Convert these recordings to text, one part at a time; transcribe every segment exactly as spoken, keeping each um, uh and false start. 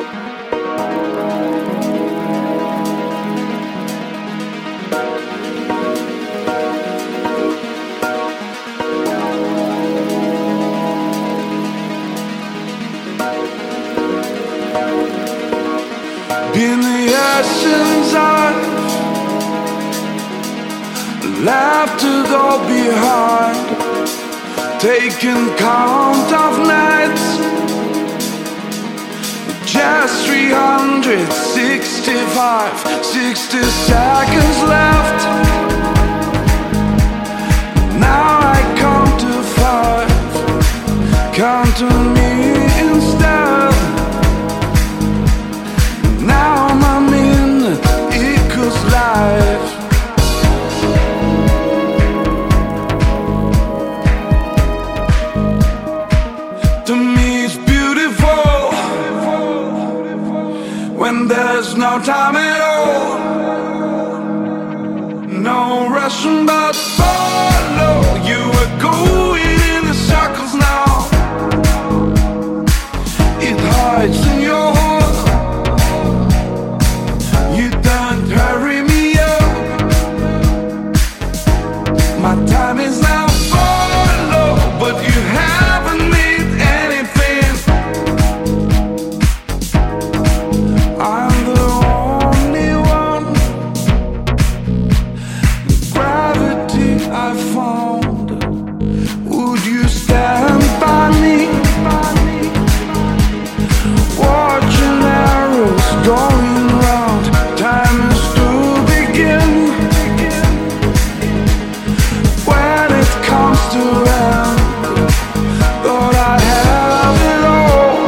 In the essence I've left it all behind, taking count of nights, just three hundred sixty-five, sixty seconds left. Now I count to five, count to me instead. Now my minute equals life. To me it's beautiful when there's no time at all, no rushing but follow. You are going in the circles now. It hides in your heart. You don't hurry me up. My time is now follow, but you haven't made anything. I'm the only one. Gravity I found. Would you stand by me? Watching arrows going round. Time is to begin. When it comes to end, thought I have it all.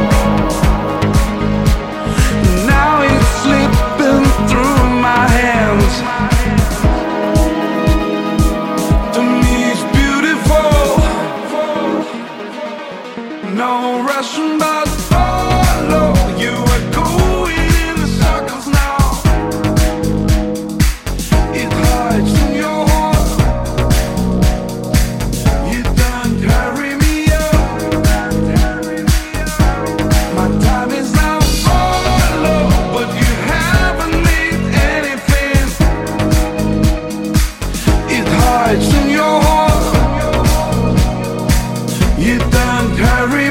Now it's slipping through my hands. To me it's beautiful. No rushing but follow. You are going in the circles now. It hides in your heart. You don't hurry me up. My time is now follow, but you haven't made anything. It hides in your heart. You don't hurry